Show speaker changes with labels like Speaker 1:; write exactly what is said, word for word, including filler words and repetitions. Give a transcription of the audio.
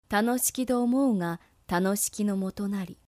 Speaker 1: 楽しきと思うが楽しきのもとなり、